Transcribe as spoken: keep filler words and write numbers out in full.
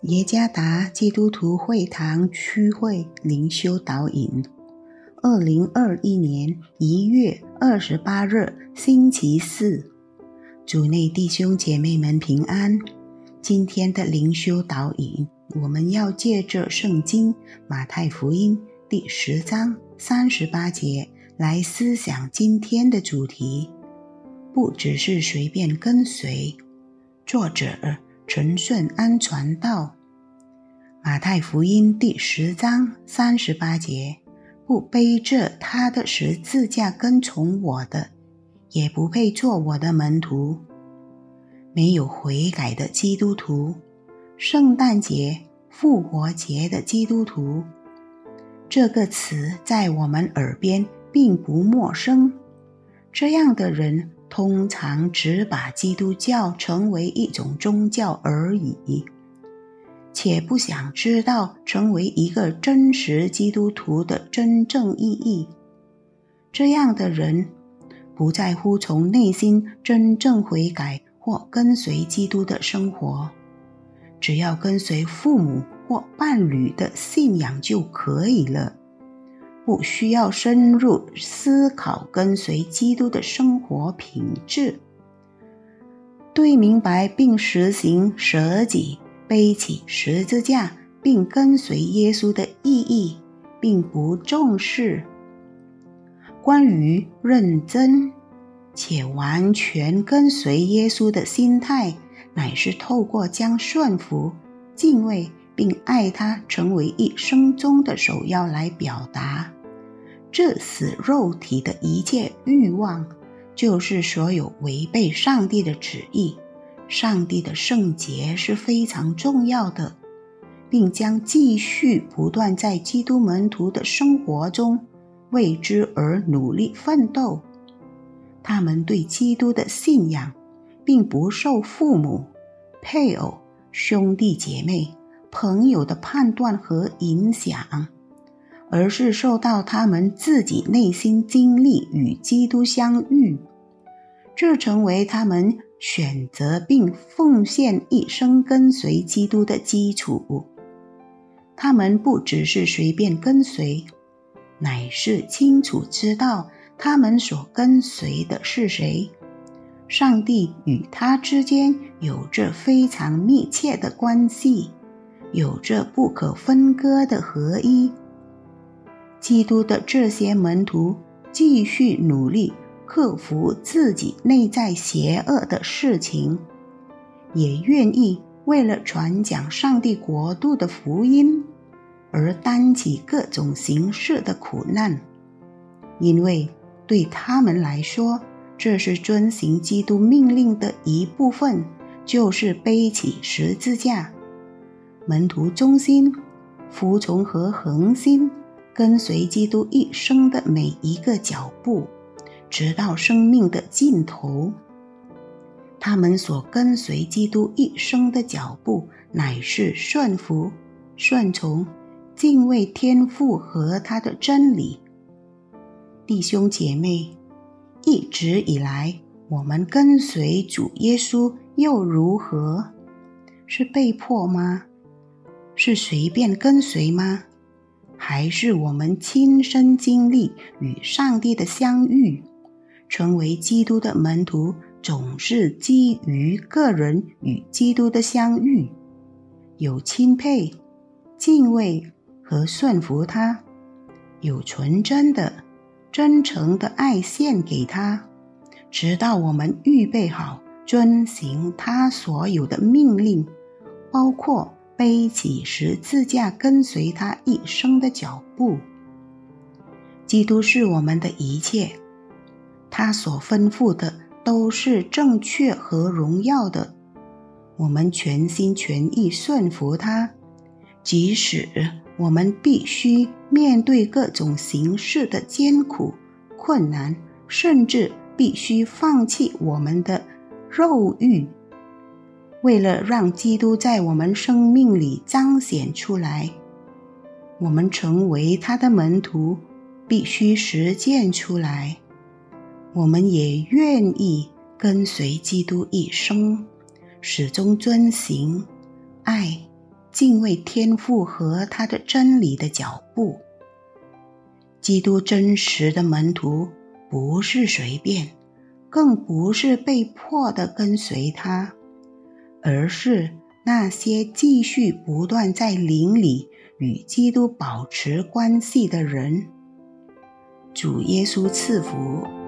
耶加达基督徒会堂区会灵修导引，二零二一年一月二十八日星期四，主内弟兄姐妹们平安。今天的灵修导引，我们要借着圣经马太福音第十章三十八节来思想今天的主题，不只是随便跟随。作者陈顺安传道。马太福音第十章三十八节，不背着他的十字架跟从我的，也不配做我的门徒。没有悔改的基督徒，圣诞节、复活节的基督徒，这个词在我们耳边并不陌生。这样的人通常只把基督教成为一种宗教而已，且不想知道成为一个真实基督徒的真正意义。这样的人不在乎从内心真正悔改或跟随基督的生活，只要跟随父母或伴侣的信仰就可以了，不需要深入思考跟随基督的生活品质。对明白并实行舍己、背起十字架并跟随耶稣的意义并不重视。关于认真且完全跟随耶稣的心态，乃是透过将顺服、敬畏并爱他成为一生中的首要来表达。致死肉体的一切欲望，就是所有违背上帝的旨意。上帝的圣洁是非常重要的，并将继续不断在基督门徒的生活中为之而努力奋斗。他们对基督的信仰并不受父母、配偶、兄弟姐妹、朋友的判断和影响，而是受到他们自己内心经历与基督相遇，这成为他们选择并奉献一生跟随基督的基础。他们不只是随便跟随，乃是清楚知道他们所跟随的是谁。上帝与他之间有着非常密切的关系，有着不可分割的合一。基督的这些门徒继续努力克服自己内在邪恶的事情，也愿意为了传讲上帝国度的福音而担起各种形式的苦难，因为对他们来说，这是遵行基督命令的一部分，就是背起十字架。门徒忠心、服从和恒心跟随基督一生的每一个脚步，直到生命的尽头。他们所跟随基督一生的脚步，乃是顺服、顺从、敬畏天父和他的真理。弟兄姐妹，一直以来我们跟随主耶稣又如何？是被迫吗？是随便跟随吗？还是我们亲身经历与上帝的相遇？成为基督的门徒总是基于个人与基督的相遇，有钦佩、敬畏和顺服他，有纯真的、真诚的爱献给他，直到我们预备好遵行他所有的命令，包括背起十字架跟随他一生的脚步。基督是我们的一切，他所吩咐的都是正确和荣耀的，我们全心全意顺服他，即使我们必须面对各种形式的艰苦、困难，甚至必须放弃我们的肉欲。为了让基督在我们生命里彰显出来，我们成为他的门徒，必须实践出来。我们也愿意跟随基督一生，始终遵行、爱、 敬畏天父和他的真理的脚步。基督真实的门徒不是随便，更不是被迫地跟随他，而是那些继续不断在灵里与基督保持关系的人。主耶稣赐福。